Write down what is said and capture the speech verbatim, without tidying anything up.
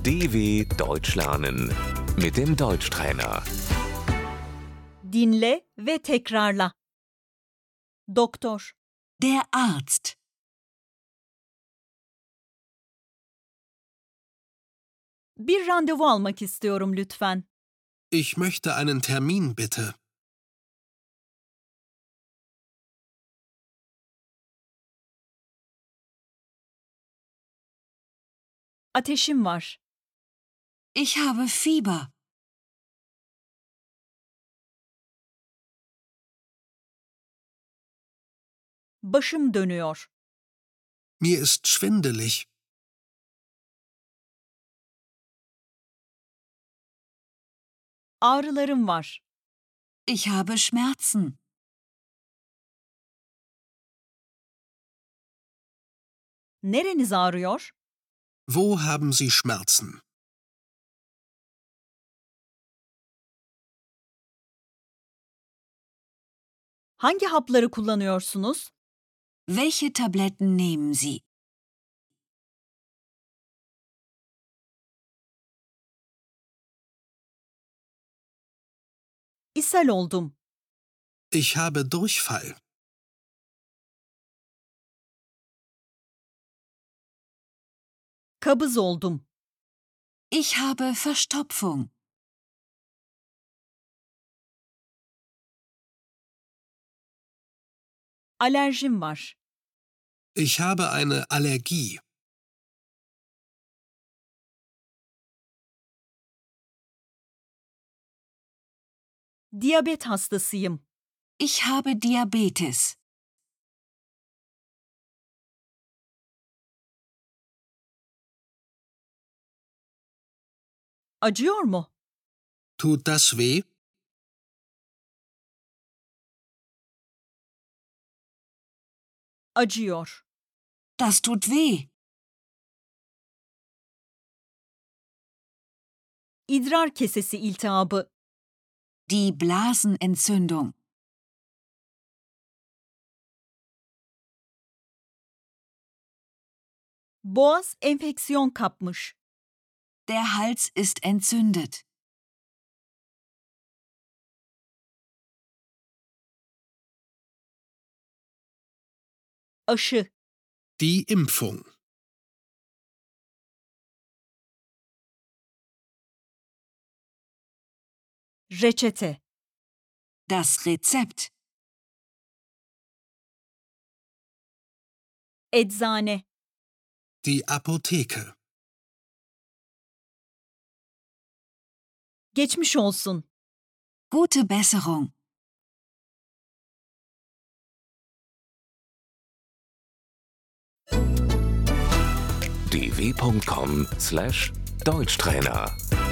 D W Deutsch lernen mit dem Deutschtrainer. Dinle ve tekrarla. Doktor, Der Arzt. bir randevu almak istiyorum lütfen. Ich möchte einen Termin, bitte. Ateşim var. Ich habe Fieber. Başım dönüyor. Mir ist schwindelig. Ağrılarım var. Ich habe Schmerzen. Nereniz ağrıyor? Wo haben Sie Schmerzen? Hangi hapları kullanıyorsunuz? Welche Tabletten nehmen Sie? İshal oldum. Ich habe Durchfall. Kabız oldum. Ich habe Verstopfung. Alerjim var. Ich habe eine Allergie. Diyabet hastasıyım. Ich habe Diabetes. Acıyor mu? Tut das weh? Acıyor. Das tut weh. İdrar kesesi iltihabı. Die Blasenentzündung. Boğaz enfeksiyon kapmış. Der Hals ist entzündet. Aşı. Die Impfung. Reçete. Das Rezept. Eczane. Die Apotheke. Geçmiş olsun. Gute Besserung. d w punkt com slash Deutschtrainer